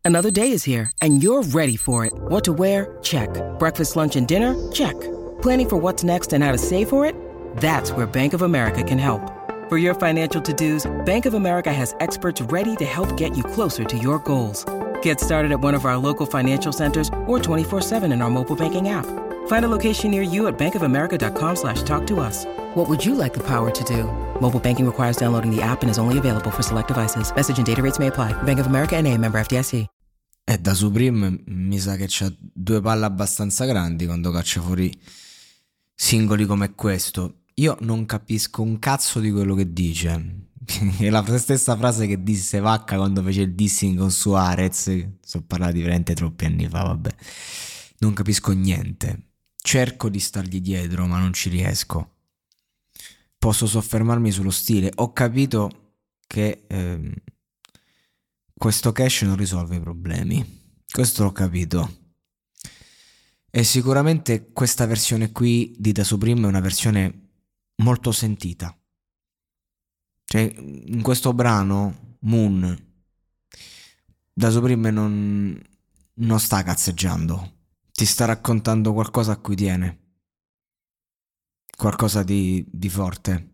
Another day is here, and you're ready for it. What to wear? Check. Breakfast, lunch, and dinner? Check. Planning for what's next and how to save for it? That's where Bank of America can help. For your financial to-dos, Bank of America has experts ready to help get you closer to your goals. Get started at one of our local financial centers or 24/7 in our mobile banking app. Find a location near you at bankofamerica.com/talktous. What would you like the power to do? Mobile banking requires downloading the app and is only available for select devices. Message and data rates may apply. Bank of America N.A., member FDIC. Da Supreme mi sa che c'ha due palle abbastanza grandi quando caccia fuori singoli come questo. Io non capisco un cazzo di quello che dice. È la stessa frase che disse Vacca quando fece il dissing con Suarez. Sto parlando di veramente troppi anni fa, vabbè. Non capisco niente. Cerco di stargli dietro, ma non ci riesco. Posso soffermarmi sullo stile. Ho capito che questo cash non risolve i problemi. Questo l'ho capito. E sicuramente questa versione qui di Da Supreme è una versione molto sentita. Cioè, in questo brano, Moon, Da Supreme non sta cazzeggiando. Ti sta raccontando qualcosa a cui tiene. Qualcosa di forte.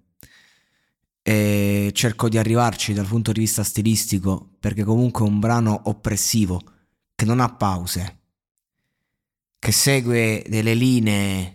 E cerco di arrivarci dal punto di vista stilistico, perché comunque è un brano oppressivo, che non ha pause, che segue delle linee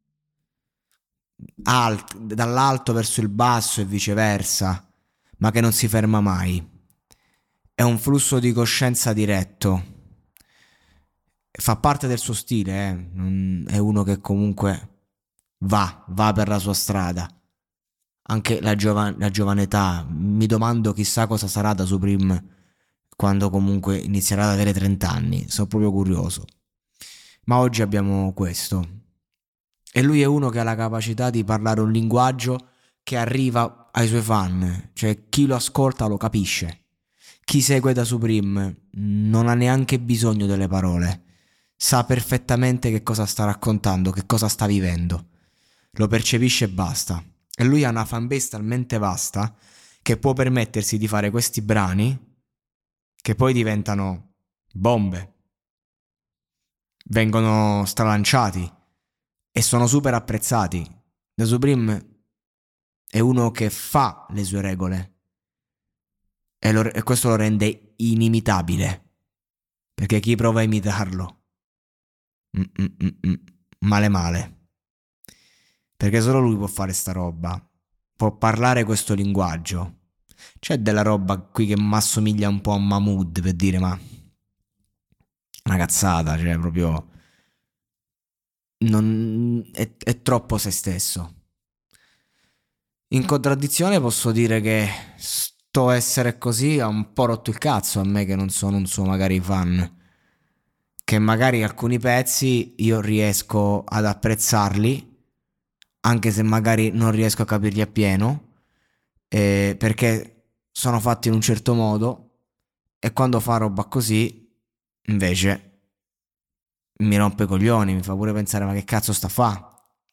dall'alto verso il basso e viceversa, ma che non si ferma mai. È un flusso di coscienza diretto. Fa parte del suo stile, è uno che comunque va per la sua strada. Anche la giovane età, mi domando chissà cosa sarà Da Supreme quando comunque inizierà ad avere 30 anni, sono proprio curioso. Ma oggi abbiamo questo. E lui è uno che ha la capacità di parlare un linguaggio che arriva ai suoi fan, cioè chi lo ascolta lo capisce. Chi segue Da Supreme non ha neanche bisogno delle parole, sa perfettamente che cosa sta raccontando, che cosa sta vivendo, lo percepisce e basta. E lui ha una fanbase talmente vasta che può permettersi di fare questi brani che poi diventano bombe, vengono stralanciati e sono super apprezzati. Da Supreme è uno che fa le sue regole e questo lo rende inimitabile, perché chi prova a imitarlo male, perché solo lui può fare sta roba, può parlare questo linguaggio. C'è della roba qui che mi assomiglia un po' a Mahmood, per dire, ma una cazzata, cioè proprio non è troppo se stesso. In contraddizione posso dire che sto essere così ha un po' rotto il cazzo a me, che non sono un suo magari fan, che magari alcuni pezzi io riesco ad apprezzarli anche se magari non riesco a capirli appieno, perché sono fatti in un certo modo, e quando fa roba così invece mi rompe i coglioni, mi fa pure pensare ma che cazzo sta a fa.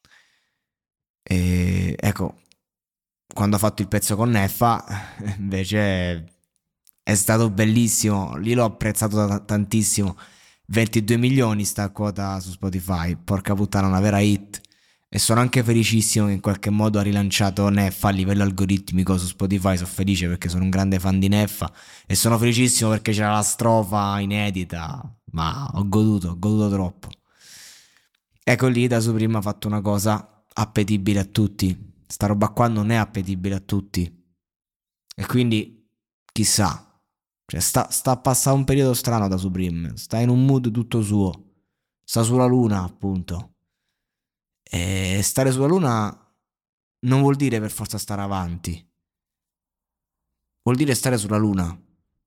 E ecco, quando ha fatto il pezzo con Neffa invece è stato bellissimo, lì l'ho apprezzato tantissimo. 22 milioni sta a quota su Spotify, porca puttana, una vera hit. E sono anche felicissimo che in qualche modo ha rilanciato Neffa a livello algoritmico su Spotify. Sono felice perché sono un grande fan di Neffa e sono felicissimo perché c'era la strofa inedita, ma ho goduto troppo. Ecco, lì Da Supreme ha fatto una cosa appetibile a tutti. Sta roba qua non è appetibile a tutti, e quindi chissà, cioè sta a passare un periodo strano Da Supreme, sta in un mood tutto suo, sta sulla luna appunto. E stare sulla luna non vuol dire per forza stare avanti, vuol dire stare sulla luna.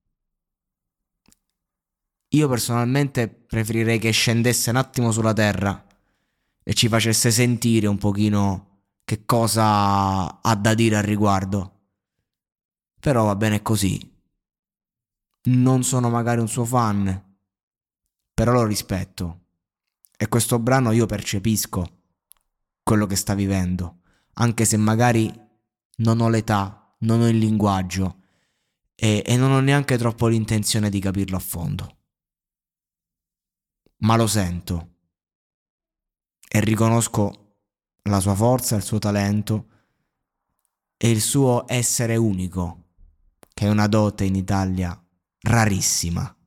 Io personalmente preferirei che scendesse un attimo sulla terra e ci facesse sentire un pochino che cosa ha da dire al riguardo. Però va bene così. Non sono magari un suo fan, però lo rispetto, e questo brano io percepisco quello che sta vivendo, anche se magari non ho l'età, non ho il linguaggio e non ho neanche troppo l'intenzione di capirlo a fondo. ma lo sento e riconosco la sua forza, il suo talento e il suo essere unico, che è una dote in Italia rarissima.